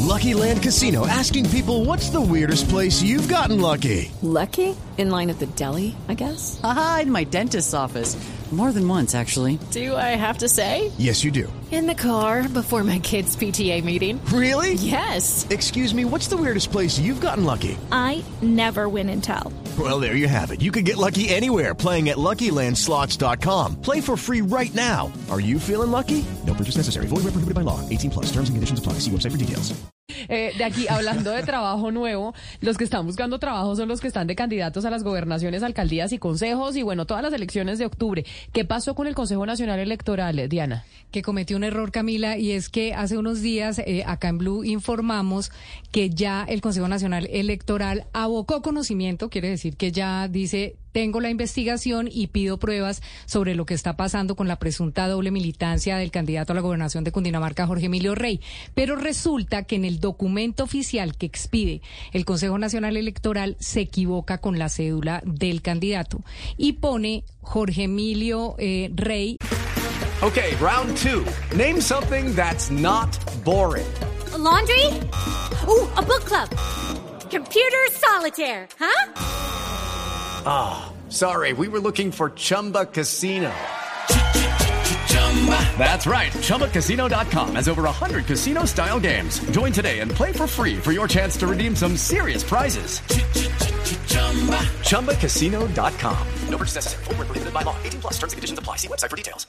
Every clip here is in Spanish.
Lucky Land Casino, asking people, what's the weirdest place you've gotten lucky? Lucky? In line at the deli, I guess? Aha, in my dentist's office. More than once, actually. Do I have to say? Yes, you do. In the car before my kids' PTA meeting. Really? Yes. Excuse me, what's the weirdest place you've gotten lucky? I never win and tell. Well, there you have it. You can get lucky anywhere, playing at LuckyLandSlots.com. Play for free right now. Are you feeling lucky? No purchase necessary. Void where prohibited by law. 18+. Terms and conditions apply. See website for details. De aquí, hablando de trabajo nuevo, los que están buscando trabajo son los que están de candidatos a las gobernaciones, alcaldías y consejos y bueno, todas las elecciones de octubre. ¿Qué pasó con el Consejo Nacional Electoral, Diana? Que cometió un error, Camila, y es que hace unos días acá en Blue informamos que ya el Consejo Nacional Electoral abocó conocimiento, quiere decir que ya dice: tengo la investigación y pido pruebas sobre lo que está pasando con la presunta doble militancia del candidato a la gobernación de Cundinamarca, Jorge Emilio Rey. Pero resulta que en el documento oficial que expide el Consejo Nacional Electoral se equivoca con la cédula del candidato y pone Jorge Emilio Rey. Okay, round two. Name something that's not boring. A laundry? Ooh, a book club. Computer solitaire, huh? Ah, sorry, we were looking for Chumba Casino. That's right, ChumbaCasino.com has over 100 casino-style games. Join today and play for free for your chance to redeem some serious prizes. ChumbaCasino.com. No purchase necessary. Void where prohibited by law. 18+. Terms and conditions apply. See website for details.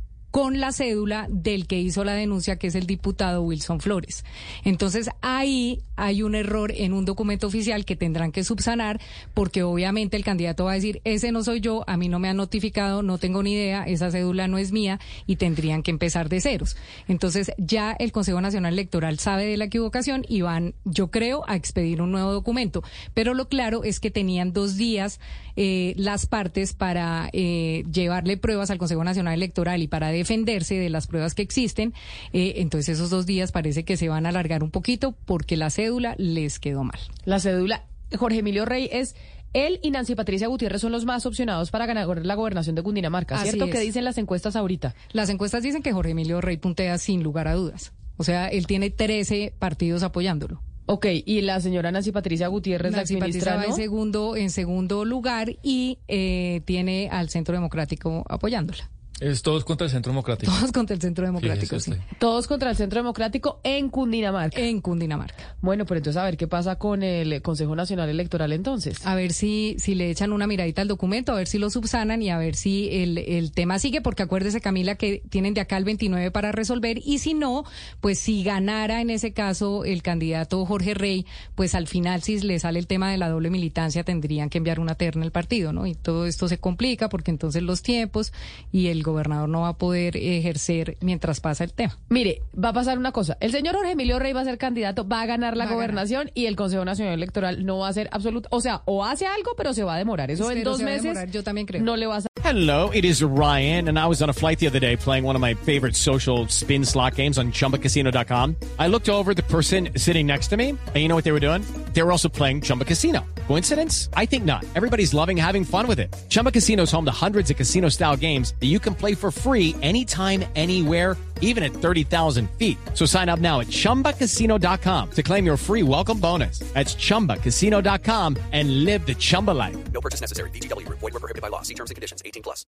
Con la cédula del que hizo la denuncia, que es el diputado Wilson Flores. Entonces, ahí hay un error en un documento oficial que tendrán que subsanar, porque obviamente el candidato va a decir: ese no soy yo, a mí no me han notificado, no tengo ni idea, esa cédula no es mía, y tendrían que empezar de ceros. Entonces, ya el Consejo Nacional Electoral sabe de la equivocación y van, yo creo, a expedir un nuevo documento. Pero lo claro es que tenían 2 días las partes para llevarle pruebas al Consejo Nacional Electoral y para defenderse de las pruebas que existen. Entonces esos 2 días parece que se van a alargar un poquito porque la cédula les quedó mal. La cédula, Jorge Emilio Rey es... Él y Nancy Patricia Gutiérrez son los más opcionados para ganar la gobernación de Cundinamarca, ¿cierto? ¿Qué dicen las encuestas ahorita? Las encuestas dicen que Jorge Emilio Rey puntea sin lugar a dudas. O sea, él tiene 13 partidos apoyándolo. Ok, y la señora Nancy Patricia Gutiérrez, Nancy la exministra, Patricia ¿no? va en segundo lugar y tiene al Centro Democrático apoyándola. Es todos contra el Centro Democrático. Todos contra el Centro Democrático, sí. Todos contra el Centro Democrático en Cundinamarca. En Cundinamarca. Bueno, pero entonces a ver qué pasa con el Consejo Nacional Electoral entonces. A ver si le echan una miradita al documento, a ver si lo subsanan y a ver si el tema sigue, porque acuérdese, Camila, que tienen de acá al 29 para resolver, y si no, pues si ganara en ese caso el candidato Jorge Rey, pues al final, si le sale el tema de la doble militancia, tendrían que enviar una terna al partido, ¿no? Y todo esto se complica porque entonces los tiempos y el gobernador no va a poder ejercer mientras pasa el tema. Mire, va a pasar una cosa. El señor Jorge Emilio Rey va a ser candidato, va a ganar la gobernación y el Consejo Nacional Electoral no va a ser absoluto. O sea, o hace algo, pero se va a demorar. Eso en 2 meses. Yo también creo. No le va a... Hello, it is Ryan, and I was on a flight the other day playing one of my favorite social spin slot games on ChumbaCasino.com. I looked over at the person sitting next to me, and you know what they were doing? They were also playing Chumba Casino. Coincidence? I think not. Everybody's loving having fun with it. Chumba Casino is home to hundreds of casino-style games that you can play for free anytime, anywhere, even at 30,000 feet. So sign up now at ChumbaCasino.com to claim your free welcome bonus. That's ChumbaCasino.com and live the Chumba life. No purchase necessary. VGW. Void where prohibited by law. See terms and conditions. 18+.